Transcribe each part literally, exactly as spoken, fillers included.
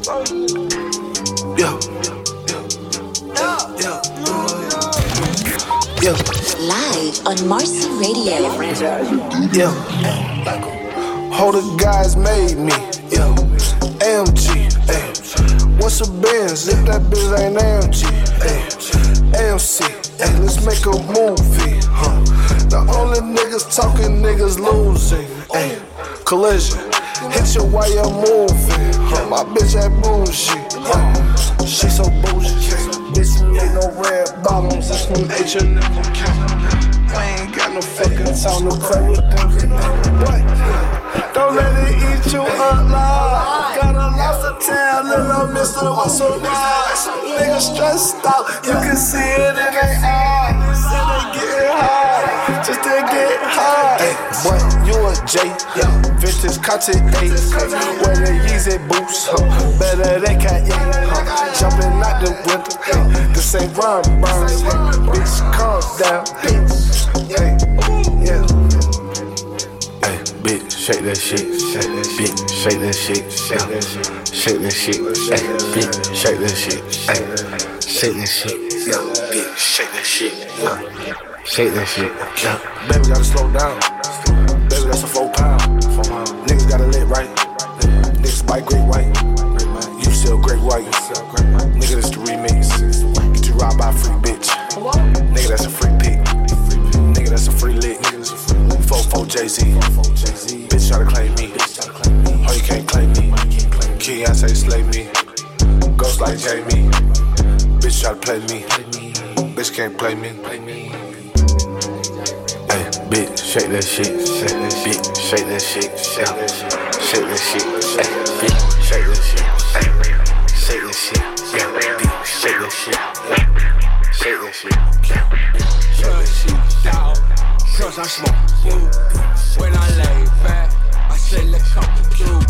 Yeah. Yeah. Yeah. Live on Marcy Radio. Yeah. Hold the guys made me. Yeah. A M G. Ay. What's a Benz if that bitch ain't A M G? Ay. A M C. Ay. Let's make a movie. Huh. The only niggas talking, niggas losing. Ay. Collision. Hit you while you're moving. Huh. My bitch that bullshit. Huh. She so bullshit. Bitch, we ain't no red bottoms. It's from H and M. I ain't got no fucking time to play with them. What? Don't let it eat you up loud. Got a lobster tail, little mister, what's so wrong? Niggas stressed out, you can see it in their eyes. And they getting high, just to get high. Hey, boy, you a J, yeah. Vintage content eight, wear the Yeezy boots, huh? Better they can't eat, huh? Jumping out the window, hey. This ain't Ron Burns, hey. Bitch, calm down, bitch. Hey, yeah. Hey, bitch, shake that shit, shake that shit, shake that shit, shake that shit, shake that shit, hey, bitch, shake that shit, hey, shake that shit, yeah, bitch, shake that shit, yeah, shake that shit, yeah. Baby gotta slow down, baby that's a four pound, niggas gotta live right, niggas buy great white, you sell great white, nigga that's the remix, get you robbed by a free bitch, nigga that's a free pick. That's a free lick. four four Jay-Z. Bitch try to claim me. Oh, you can't claim me. King, I say slay me. Ghost like Jamie. Bitch try to play me. Bitch can't play me. Hey, bitch, shake that shit. Shake that shit. Bitch, shake that shit. Shake that shit. Shake that shit. Hey, bitch, shake that shit. Hey, shake that shit. Yeah, bitch, shake that shit. Shake that shit. Shake that shit. Cause I smoke food. When I lay back, I say let's come through.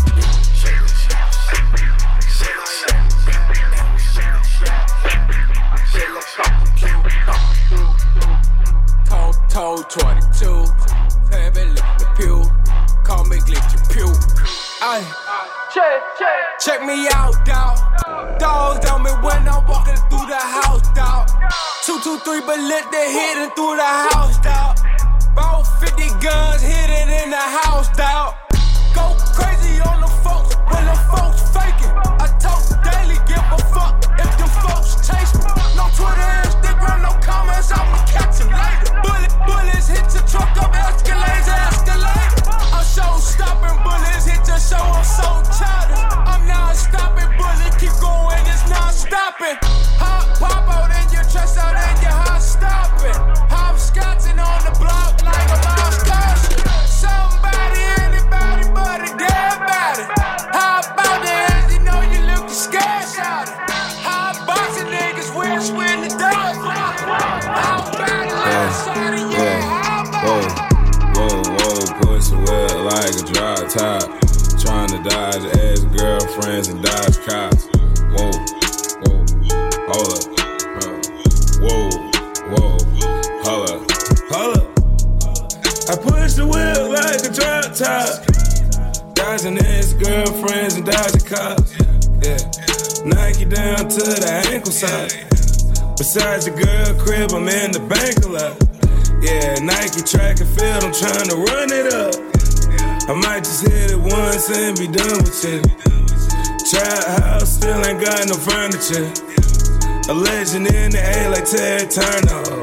Told, told twenty-two, heavy lift the pew. Call me glitchy pew. Ay, check, check, check me out, dawg. Dogs on me when I'm walking through the house, dawg. Two, two, three, but let the hidden through the house, dawg. About fifty guns hit it in the house, dawg. Go crazy on the folks when the folks faking. I talk daily, give a fuck if them folks chase me. No Twitter, Instagram, no comments, I'ma catch them later. Bullet, bullets hit your truck up, escalades, escalate. I'm so stopping, bullets hit your show, I'm so childish. I'm not stopping, bullets keep going, it's not stopping. Hot pop out in your chest, out in your hot stopping. Hopscotching on the block like a lost caution. Somebody, anybody, but a dead body. How about the ass, you know you look scared, shout it. How boxing niggas wish when the dog. How about the last shot of yeah, how about Whoa, whoa, pussy wet like a dry top. Trying to dodge ass girlfriends and dodge cops. Whoa, whoa, hold up. Whoa, whoa, hold up, hold up. I push the wheel like a drop top. Dodging ass girlfriends and dodging cops. Yeah, Nike down to the ankle side. Besides the girl crib, I'm in the bank a lot. Yeah, Nike track and field, I'm trying to run it up. I might just hit it once and be done with it. Trap house, still ain't got no furniture. A legend in the A like Ted Turner.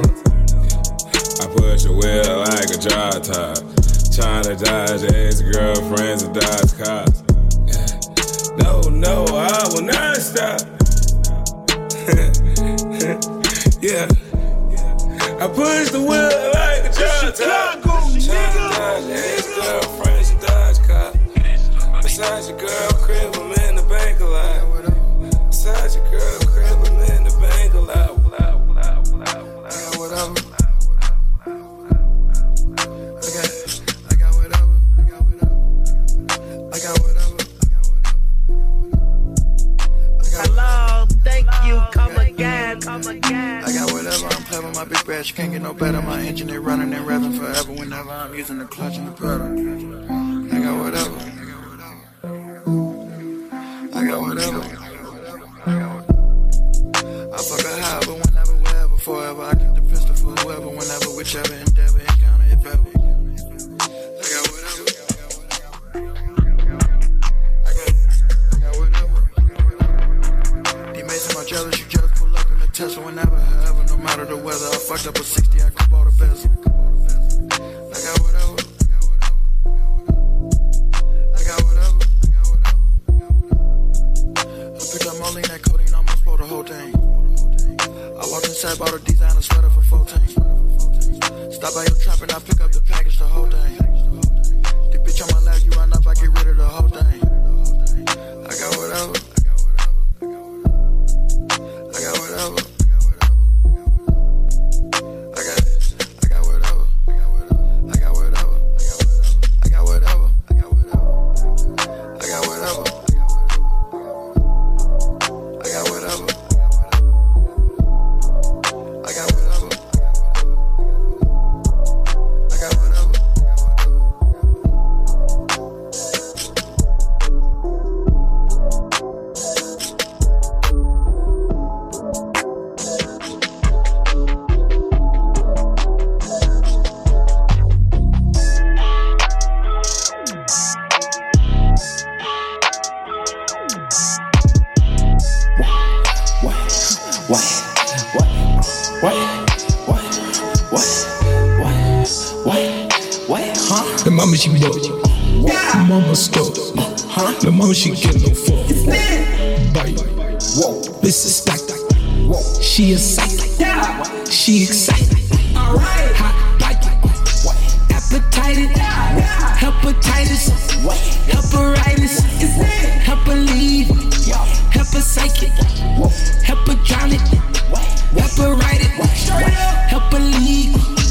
I push a wheel like a dry top. Trying to dodge ex-girlfriends and dodge cops. No, no, I will not stop. Yeah. I push the wheel like a dry top. Trying to dodge ex-girlfriends and dodge cops. Besides your girl crib, I'm in the bank a lot. Besides your girl crib, I'm in the bank a lot. Whatever. I got whatever, I'm playing with my big bad. You can't get no better. My engine is running and revving forever. Whenever I'm using the clutch and the pedal. I got whatever. I got whatever. whichever endeavor, encounter, if ever. I got whatever. I got, I got whatever. D-Mason, my jealous, you just pull up in the Tesla whenever, however, no matter the weather. I fucked up a sixty, I could bought a bezel. I got whatever. I got whatever. I picked up Moline, that codeine, almost bought the whole thing. I walked inside, bought a designer sweater for fourteen. Stop by your trap and I pick up the package, the whole thing. The bitch on my lap, you run up, I get rid of the whole thing. I got whatever. I got whatever. I got, I got whatever. I got whatever. I got whatever. I got whatever. I got whatever. I got whatever. I got whatever. I got whatever. The mama she dope, mama stuck, huh? The mama she get no fuck. Bite, whoa, this is stack. She is psych, she excited. Hot bite, appetited, hepatitis, heparitis, hepalead, hepapsychic, hepatonic, heparitis, hepalead,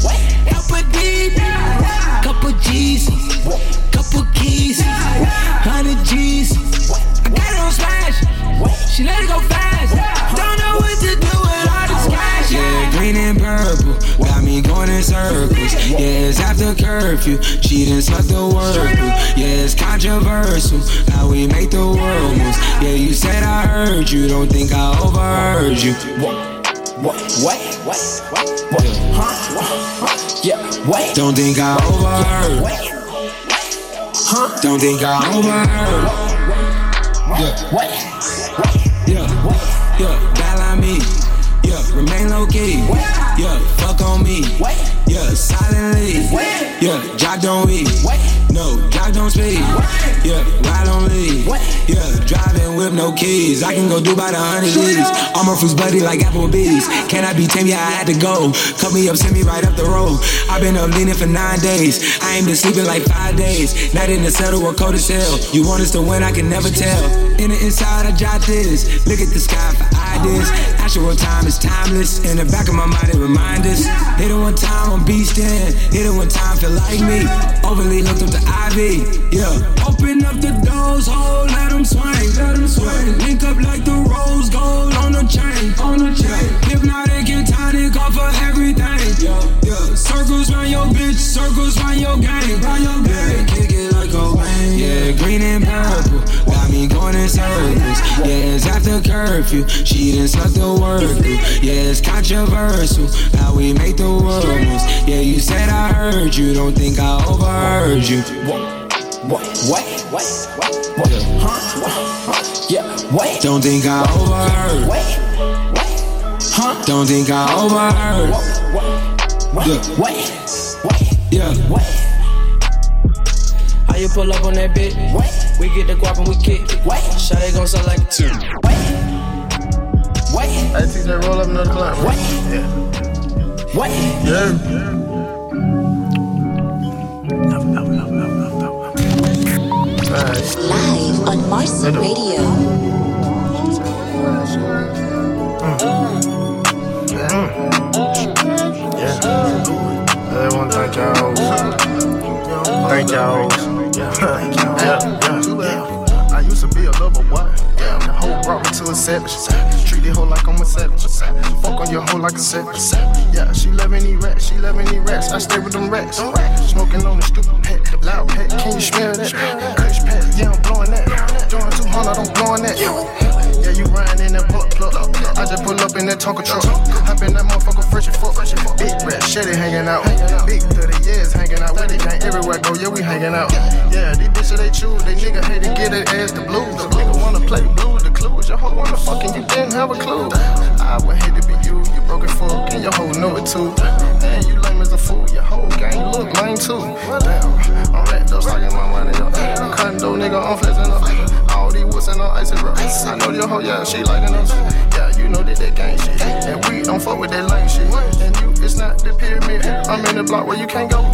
hepadied. Couple G's, couple keys, hundred G's. I got it on smash. She let it go fast. Don't know what to do with all this cash. Yeah, green and purple got me going in circles. Yeah, it's after curfew. She done sucked the word through. Yeah, it's controversial how we make the world moves. Yeah, you said I heard you. Don't think I overheard you. What? What? What? What? What? What? Huh? Yeah. Wait. Don't think I overheard. Huh? Don't think I overheard. Yeah. Wait. Yeah. Yeah. Dial on me. Yeah. Remain low key. Yeah. Fuck on me. Yeah. Silently. Yeah. Jock don't eat. No. Jock don't speak. Yeah. Ride on lead. Yeah. Driving with no keys. I can go do about a hundred G's. All my fruits buddy like Applebee's. Can I be tame? Yeah, I had to go. Cut me up, send me right up the road. I've been up leaning for nine days. I ain't been sleeping like five days. Night in the settle or cold as hell. You want us to win, I can never tell. In the inside, I jot this. Look at the sky for ideas. Actual time is timeless. In the back of my mind, it reminds us. Hit it one time, I'm beastin'. Hit it one time, feel like me. Overly hooked up to I V. Yeah. Open up the doors, hold, let them swing. Let them swing. Link up like the rose gold on the chain. On the chain. Hypnotic and tonic off of everything. Yeah. Yeah. Circles round your bitch, circles round your gang. Round your gang. Yeah. Kick it like a wing. Yeah. Green and purple got me going in circles. Yeah. It's after curfew. She done sucked the word through. Yeah. It's controversial how we make the world moves. Yeah. You said I heard you. Don't think I overheard you. What? What? What? What? What? Huh? What? Yeah. Wait. Don't think I overheard. Wait. Wait. Huh? Don't think I overheard. What? Yeah. Wait. Wait. Yeah. Wait. How you pull up on that bitch? Wait. We get the guap and we kick. Wait. Shot it gon' sound like a two. Wait. Wait. I T J roll up another climb. Wait. Yeah. Wait. Yeah. Live on Marcy Radio. Yeah. Yeah. I want to thank y'all. Thank y'all. Yeah. Yeah. Yeah. I used to be a lover boy. Yeah. The hoe brought me to a savage. Treat the hoe like I'm a savage. Fuck on your hoe like a savage. Yeah. She let me eat rats. She let me eat rats. I stay with them rats. Smoking on the stupid pet. Loud pet. Can you smell that? Kush pet. Yeah, I'm blowing that. Doing two hundred, I'm blowing that. Yeah, you riding in that pull up plug. I just pull up in that Tonka truck. Hop in that motherfucker fresh and fuck. Big rat. machete hanging out. Big thirty years hanging out. With the gang everywhere go, yeah, we hanging out. Yeah, these bitches they choose, they nigga hate to get it as the blues. The nigga wanna play blues, the clues. Your hoe wanna fucking, you didn't have a clue. I would hate to be you, you broke it fuck, and your hoe know it too. Man, you lame as a fool, your whole gang look lame too. Damn, I'm wrapped up, sucking my money up. I'm cutting dough, nigga, I'm flexing up. All these woods and all icy bro. I know your hoe, yeah, she liking us. Yeah, you know that that gang shit. And we don't fuck with that lame shit. And you, it's not the pyramid. I'm in the block where you can't go.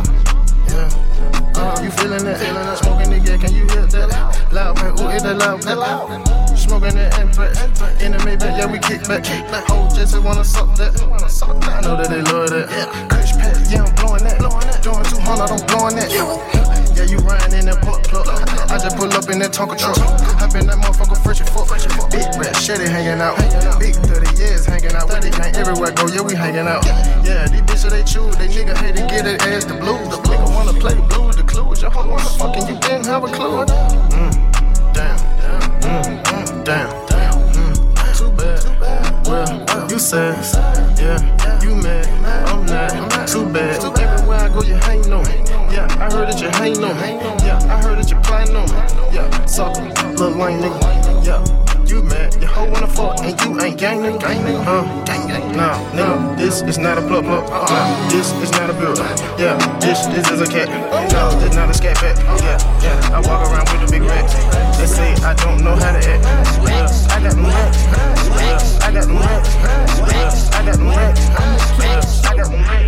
Yeah. Uh, you feeling that? Feeling that? Smoking nigga, can you hear that? Loud, man, ooh, it's that loud, that loud. Smoking that impact. In the Maybach, yeah, we kick back. Whole just wanna suck that. I know that they love that. Kush pack, yeah, I'm blowing that. Doing two hundred, I'm blowing that. Yeah, you riding in that plug plug. I just pull up in that Tonka truck. Hop in that motherfucker fresh and fuck. Big rat, shitty hanging out. Big thirty years hanging out. With the gang everywhere go, yeah, we hanging out. Yeah, these bitches they choose, they nigga hate to get it as the blues. The nigga wanna play blues, the clues. Your hoe wanna fucking, you didn't have a clue. Mm, damn, mm, mm, damn, mm, too bad. Well, you said, yeah, you mad, I'm not, too bad. Everywhere I go, you hating on me. Yeah, I heard that you hating on me. Yeah, I heard that you plotting on me. Yeah, suck, little lame nigga. Yeah, you mad, your hoe wanna fuck, and you ain't gang nigga. Gang nigga, huh? Gang gang. Nah, nigga, this is not a plug plug. Nah, this is not a build. Yeah, this this is a cat. No, this not a scat pack. Yeah, yeah, I walk around with a big rat. They say I don't know how to act. Yeah, I got them rats. Yeah, I got them rats. Yeah, I got them rats. Yeah, I got them rats.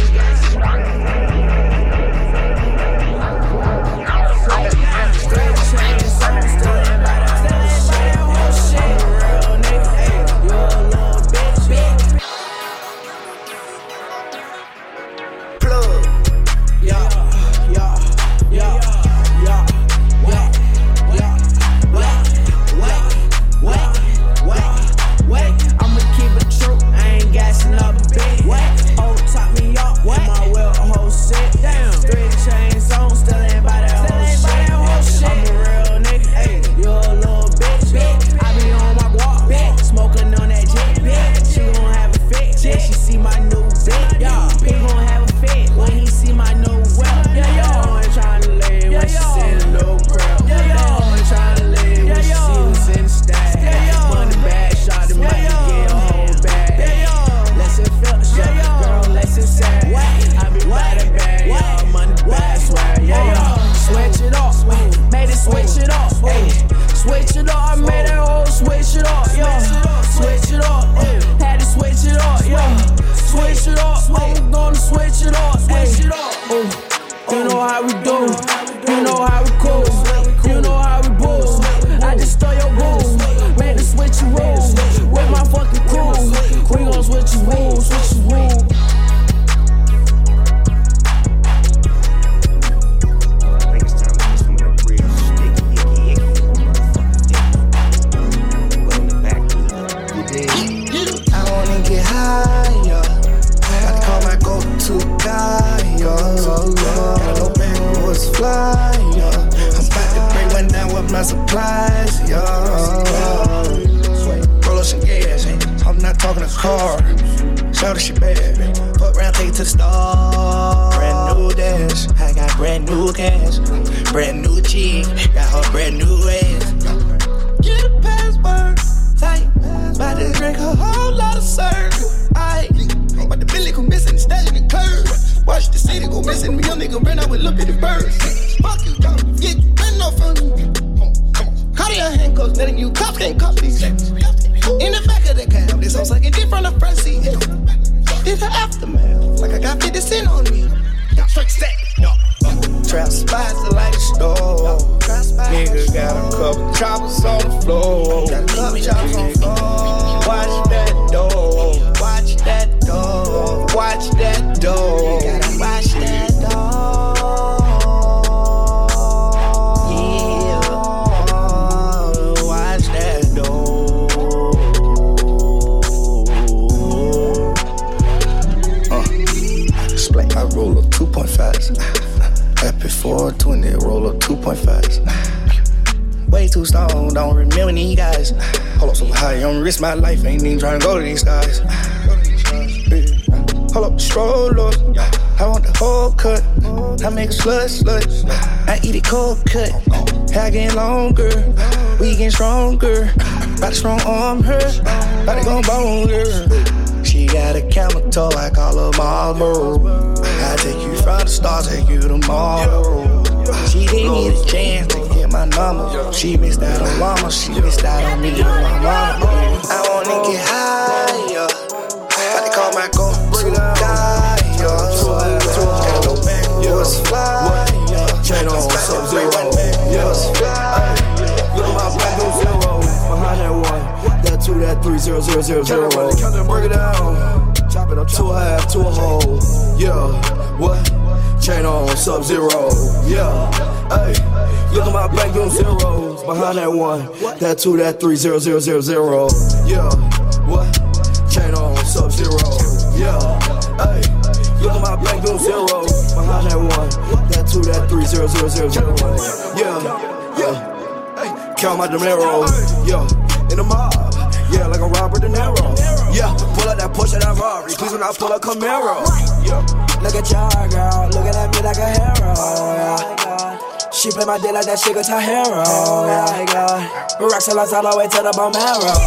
My life ain't even trying to go to these guys. Pull up the stroller. I want the whole cut. I make a slut slut. I eat it cold cut. Hair getting longer. We getting stronger. Body strong arm her. Body gon' bone her. She got a camel toe. I call her Marlboro. I take you from the stars, take you tomorrow. She didn't need a chance to get my number. She missed out on mama. She missed out on me and my mama. I wanna get higher. I they call my go. Bring it down. Was fly, chain on sub zero, yeah. Look at my black on zero, behind that one, that two, that three, zero, zero, zero, zero. Break it down, chop it up to a half, to a whole, yeah. What? Chain on sub zero, yeah. Hey, look at my black on zeros, behind that one, that two, that three, zero, zero, zero, zero, yeah. What? Chain on sub zero, yeah. Hey. Look at my black on zero, behind that one, that two, that three, zero, zero, zero, zero. Yeah, yeah. Hey, count my dinero, yeah. In the mob, yeah, like a Robert De Niro. Yeah, pull out that Porsche, that Rari. Please when I pull a Camaro. Yeah, look at y'all, girl, looking at me like a hero. Yeah. She play my dick like that shit got her hero. Yeah, rocks all the way to the bone marrow.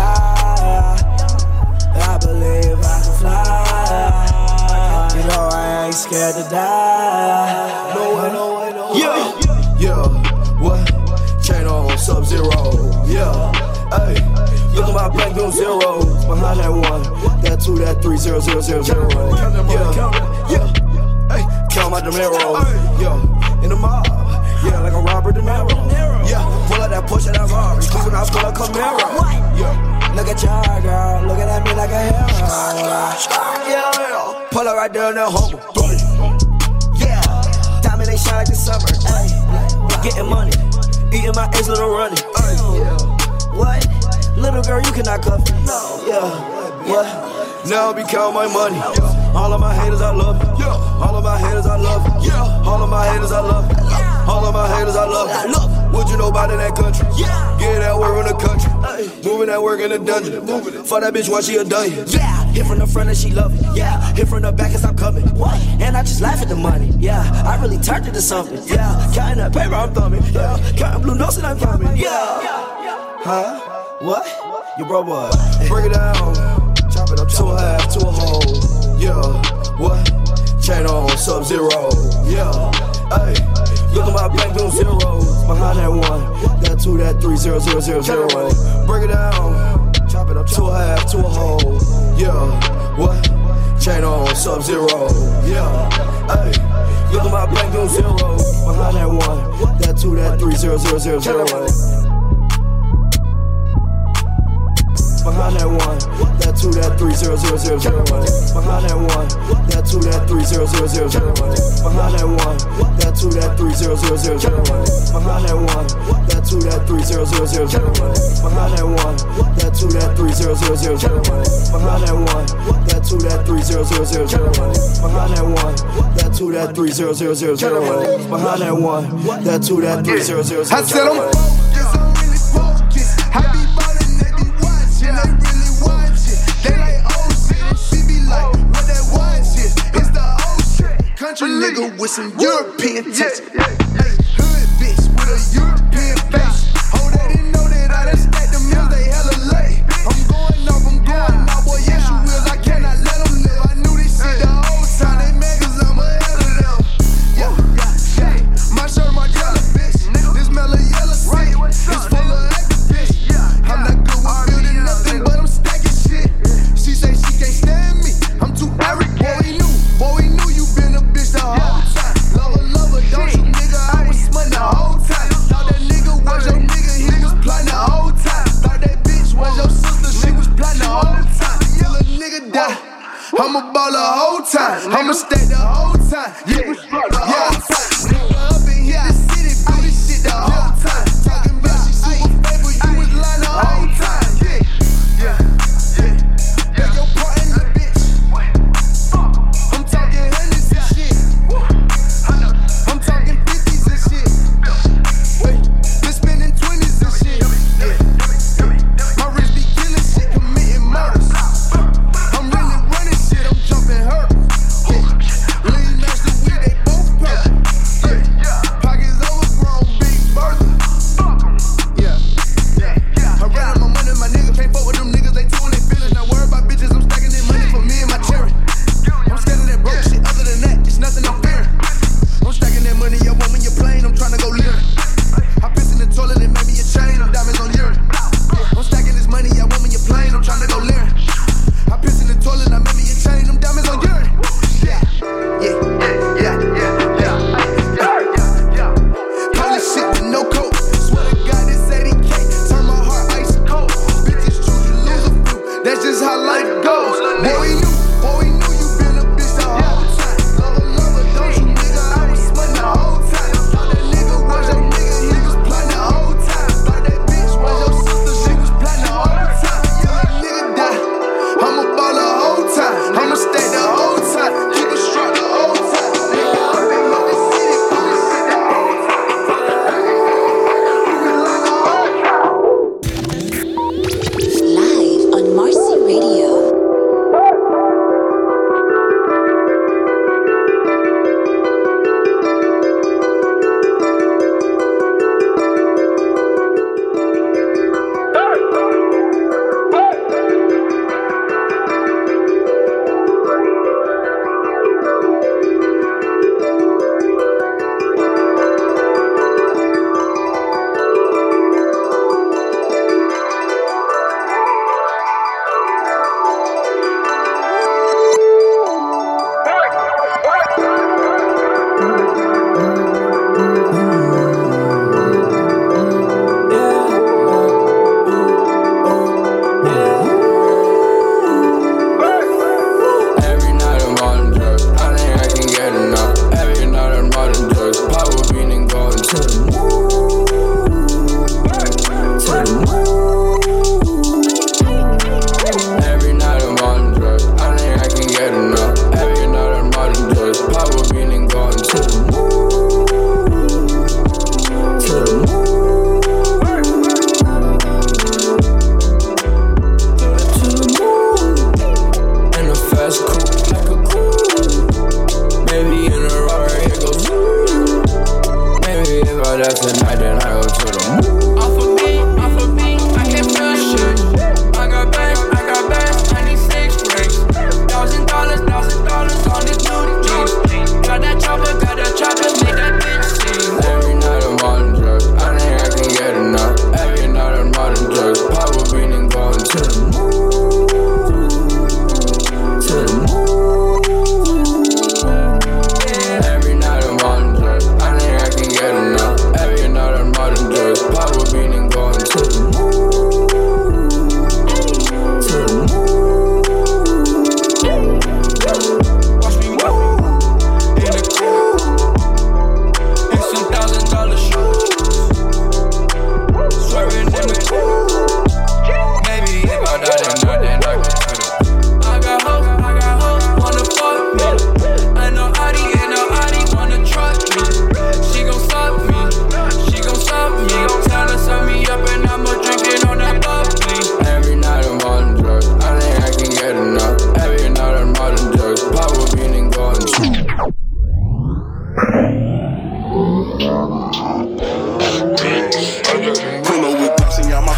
Yeah, I believe I can fly. You know I ain't scared to die. No way, no way, no way. Yeah, yeah, what? Chain on sub zero. Yeah, hey, look at my black on zeros. Behind that one, that two, that three, zero, zero, zero, zero. Yeah, yeah, hey, count my dinero. Yeah, in the mob, yeah, like a Robert De Niro. Yeah, pull out that Porsche, that Rari. Please when I pull a Camaro. Yeah, look at y'all, girl, looking at me like a hero. Yeah. Pull up right there in that humble. Yeah, diamond ain't shine like the summer. Ay, getting money, eating my ex little running. Ay, what? Little girl, you cannot cuff me. No. Yeah, what? Now I be counting my money. All of my haters, I love it. All of my haters, I love it. All of my haters, I love it. All of my haters, I love it. What you know about in that country? Get that work in the country. Moving that work in the dungeon. For that bitch, why she a dungeon? Yeah, hit from the front and she love it. Yeah, hit from the back and stop coming. What? And I just laugh at the money. Yeah, I really turned into something. Yeah, counting that paper, I'm thumbing. Yeah, counting blue notes and I'm coming. Yeah. Huh? What? You bro what? Break it down. Chop it up to a half, to a whole. Yeah, what? Chain on sub zero. Yeah, hey, look at my black on zeros. Behind that one, that two, that three, zero, zero, zero, zero. Break it down. Chop it up to a half, to a whole. Yeah, what? Chain on sub zero. Yeah, hey, look at my black on zeros. Behind that one, that two, that three, zero, zero, zero, zero. Behind that one, that two, that three, zero, zero, zero, zero. Behind that one, that two, that three, zero, zero, zero, zero. Behind that one, that two, that three, zero, zero, zero, zero. Behind that one, that two, that three, zero, zero, zero, zero. Behind that one, that two, that three, zero, zero, zero, zero. Behind that one, that two, that three, zero, zero, zero, zero. Behind that one, that two, that three, zero, zero, zero, zero. Behind that one, that two, that three, zero, zero, zero. I said I'm focused, I'm really focused. I be ballin', they be watching, they really watching. They like oh shit, she be like what that watch is. It's the old shit. Country nigga with some European taste. Hood bitch with a European face. Oh, they didn't know that I done stacked them hills, they hella late. I'm going off, I'm going off, boy, yes you will, I cannot let them live. I knew this shit the whole time, they mad cause I'm ahead of them. Yeah, yeah, my shirt, my yellow bitch. This mellow yellow shit, it's full of activists. I'm not good with building nothing, but I'm stacking shit. She say she can't stand me, I'm too arrogant. Boy, we knew, boy, we knew you been a bitch the whole time. Lover, lover, don't you nigga, I was smut the whole time. Thought that nigga was your nigga, he was plotting the whole time. Thought that bitch was your sister, she was plotting the whole time. Till a nigga die, I'ma ball the whole time. I'ma stay the whole time. Yeah, yeah. Nigga up in here, the city, do this shit the whole time. Talking about she super faithful, you was lying the whole time. Yeah, yeah, yeah. Beg your pardon, the bitch. I'm talking hundreds and shit. I'm talking fifties and shit. Been spending twenties and shit. Yeah. My wrist be killing shit, committing murders. I'm really running shit, I'm jumping hurt.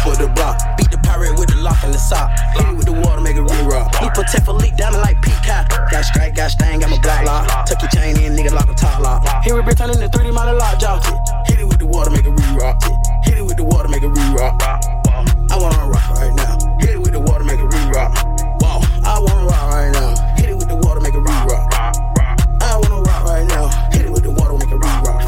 up the block. Beat the pirate with the lock and the sock. Hit it with the water, make it re-rock. We protect for leak, diamond like Peacock. Got strike, got stain, got my block lock. Tuck your chain in, nigga, lock the top lock. Here we been turning the three D model lock, jock it. Hit it with the water, make it re-rock. Hit it with the water, make it re-rock. I wanna rock right now. Hit it with the water, make it re-rock. Wow, I wanna rock right now. Hit it with the water, make it re-rock. I wanna rock right now. Hit it with the water, make it re-rock.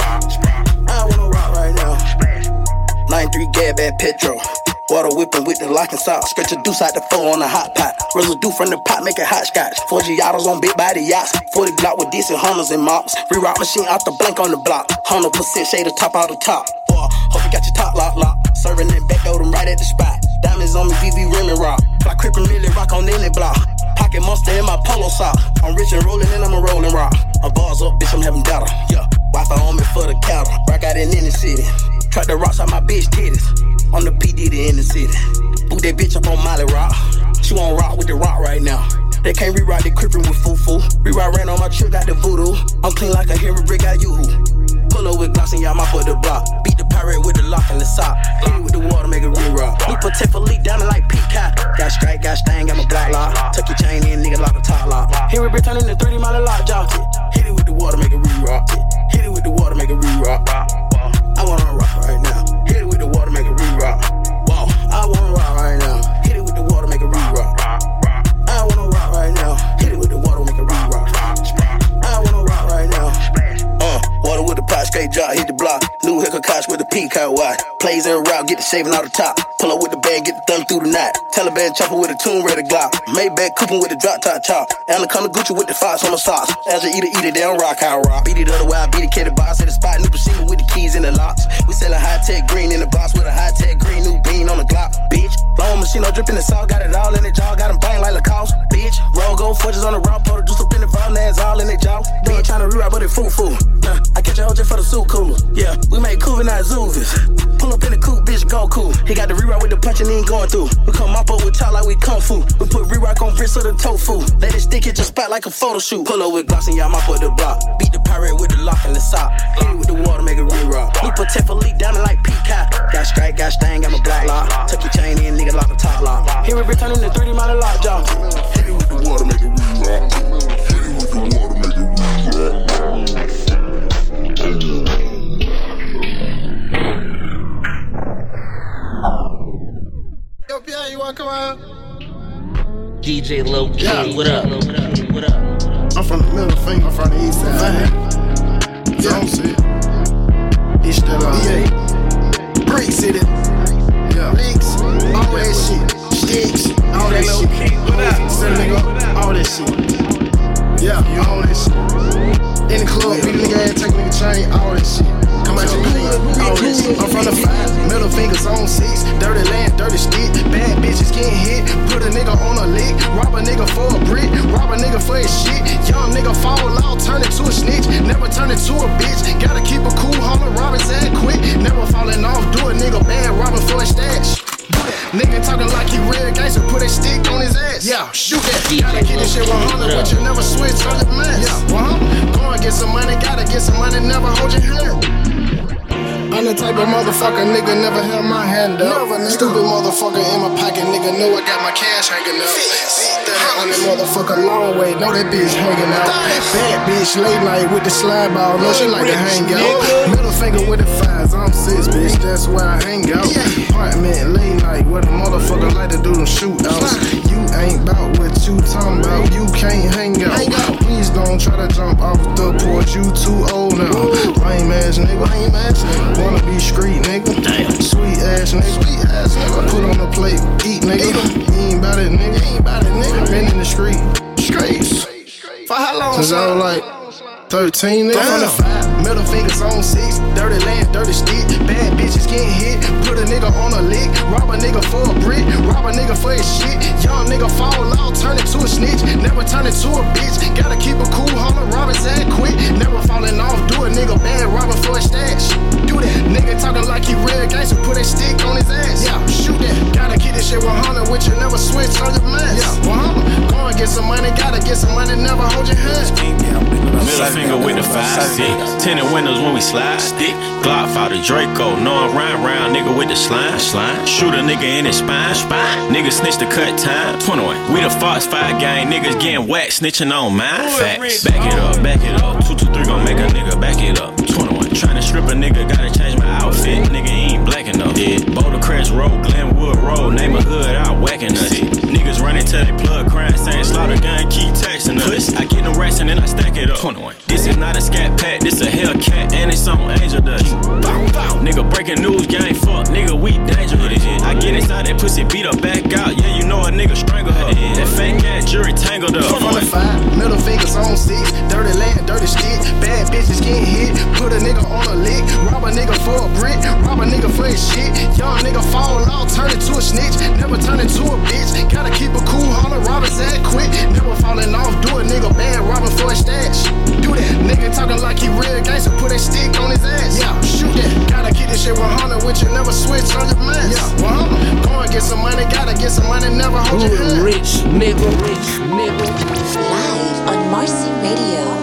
I wanna rock right now. nine three Gab at Petro. Water whipping with the lock and sock. Stretch a deuce out the four on the hot pot. Residue from the pot, make it hot scotch. four Giottos on big body yachts. forty block with decent Hunters and mops. Reroute machine out the blank on the block. one hundred percent shade the top out the top. Boy, hope you got your top lock lock. Serving and back, throw them right at the spot. Diamonds on me, V V rim and rock. Fly crippin' Millie rock on any block. Pocket monster in my polo sock. I'm rich and rolling and I'm a rolling rock. I'm bars up, bitch, I'm having data. Yeah, Wi-Fi on me for the cattle. Rock out in any city. Track the rocks out my bitch titties. I'm the P D D in the city. Boot that bitch up on Molly Rock. She won't rock with the rock right now. They can't rewrite the crippin' with foo-foo. Rewrite ran on my trip, got the voodoo. I'm clean like a hero brick, got you. Pull up with Glocks and y'all mop up the block. Beat the pirate with the lock and the sock. Hit it with the water, make it re-rock. We protect for leak, diamond like Peacock. Got strike, got stain, got my block lock. Tuck your chain in, nigga, lock the top lock. Here we been turning the three D model lock, jock it. Hit it with the water, make it re-rock. Hit it with the water, make it re-rock. I wanna rock right now. Hit it with the water, make it re-rock. Wow, I wanna rock right now. Hit it with the water, make it re-rock. I wanna rock right now. Hit it with the water, make it re-rock. I wanna rock right now. Uh, water with the pot, straight drop, hit the block. New Hicker Koch with the peacock watch. Plays in route, get the shaving out the top. Pull up with the bag, get the thumb through the night. Taliban chopper with a tune ready glock. Maybach coupon with the drop top chop. Anaconda Gucci with the fox on the socks. As you eat it, eat it, they don't rock, how rock. Beat it other way, I beat it, the box at the spot. New Pacino with the keys in the locks. We sellin' high-tech green in the box with a high-tech green new bean on the Glock. Bitch, long machine, no drippin' the salt. Got it all in the jaw, got them bang like Lacoste. Bitch, roll gold forges on the rock. Pour the juice up in the vault, now it's all in the jaw. Bitch, tryna rewrite, but it foo-foo. Nah, I catch a hoe just for the suit cooler. Yeah, we make Cuban, not Zoovis. Pull up in the coupe, bitch, go cool. He got the rewrite with the punch and he ain't going through. We come mop up with talk like we kung fu. We put rewrite on bricks of the tofu. Let it stick, hit your spot like a photo shoot. Pull up with Glocks and y'all mop up the block. Beat the pirate with the lock and the sock. Hit it with the water, make it re-rock. We protect for leak, diamond like Peacock. Got strike, got stain, got my block lock. Tuck your chain in, nigga, lock the top lock. Here we returning the three D model lock, jock. Hit it with the water, make it re-rock. Hit it with the water, make it re-rock. Yo, Pierre, you wanna come out? D J Low Key, yeah. What up? What up? I'm from the middle finger, I'm from the east side. Yeah, I'm sick. It's still on. Yeah. Brick City. Yeah. Bricks. All that shit. Sticks. All that shit. What up? Send nigga. All that shit. Yeah, you all that shit. In the club, beat a nigga ass, take a nigga chain, all that shit. Come out your clean, all that shit. I'm from the five, middle fingers on six. Dirty land, dirty stick. Bad bitches getting hit. Put a nigga on a lick. Rob a nigga for a brick. Rob a nigga for his shit. Young nigga fall out, turn into a snitch. Never turn into a bitch. Gotta keep a cool, holler, rob his ass quick. Never falling off, do a nigga bad, robbing for a stash. Nigga talking like he real gangster, put a stick on his ass. Yeah, shoot that. Gotta get this shit one hundred, but you never switch on the mess. Yeah, one hundred. Go and get some money, gotta get some money, never hold your hand. I'm the type of motherfucker, nigga, never held my hand up. Never, stupid motherfucker in my pocket, nigga, know I got my cash hanging up. On that motherfucker long way, know that bitch hanging out. Bad bitch, late night with the slide ball, know she like to hang out. Middle finger with the fives, I'm six, bitch, that's where I hang out. Apartment, late night, where the motherfucker like to do them shootouts. You ain't bout what you talking about, you can't hang out. Please don't try to jump off the porch, you too old now. Lame ass nigga, lame ass nigga. Wanna be street nigga, sweet ass nigga, sweet ass nigga. Put on the plate, eat nigga. You ain't bout it nigga, you ain't bout it nigga. Been in the street, streets. For how long? Since I was like thirteen nigga. From the five, middle fingers on six. Dirty land, dirty stick. Bad bitches getting hit. Put a nigga on a lick. Rob a nigga for a brick. Rob a nigga for his shit. Young nigga fall out, turn into a snitch. Never turn into a bitch. Gotta keep a cool, holler, rob his ass quick. Never falling off, do a nigga bad, robbing for a stash. Do that. Nigga talking like he real gangster, put a stick on his ass. Yeah, shoot that. Gotta keep this shit one hundred with you, never switch on your mess. Yeah, one hundred. Go and get some money, gotta get some money, never hold your hands. Middle finger with the five six. Tinted windows when we slide. Stick. Glock fought a Draco. No, I'm round round nigga with the slime. Slime. Shoot a nigga in his spine. Spine. Nigga snitch the cut time. twenty-one. We the Fox five gang. Niggas getting whacked. Snitching on mine. Facts. Back it up. Back it up. two two three gon' make a nigga back it up. twenty-one. Tryna strip a nigga. Gotta change my outfit. Nigga ain't black enough. Yeah. Boulder Crest Road. Glenwood Road. Name a hood out whacking us. Niggas running till they plug crying. Saying slaughter gun. Keep texting us. I get them racks and then I stack it up. twenty-one. This is not a scat pack. This a Hellcat. And it's on Angel Dust. Bow, bow. Nigga breaking news. Gang fuck. Nigga we dangerous. I get inside that pussy. Beat her back out. Yeah, you know a nigga strangle her. That fake ass jury tangled up. twenty-five. Middle fingers on six. Dirty land, dirty stick. Bad bitches getting hit. Put a nigga on a lick. Rob a nigga for a brick. Rob a nigga for his shit. Young nigga fall out. Turn into a snitch. Never turn into a bitch. Gotta keep a cool holler. Rob his ass quick. Never falling off. Do a nigga bad. Robbing for a stash. Do that. Nigga talking like he real gangster. Put a stick on his ass. Yeah, shoot that. Gotta keep this shit one hundred with you. Never switch on your man. Yeah, one hundred. Go and get some money. Gotta get some money. Never hold your hand. Rich nigga, rich nigga. Live on Marcy Radio.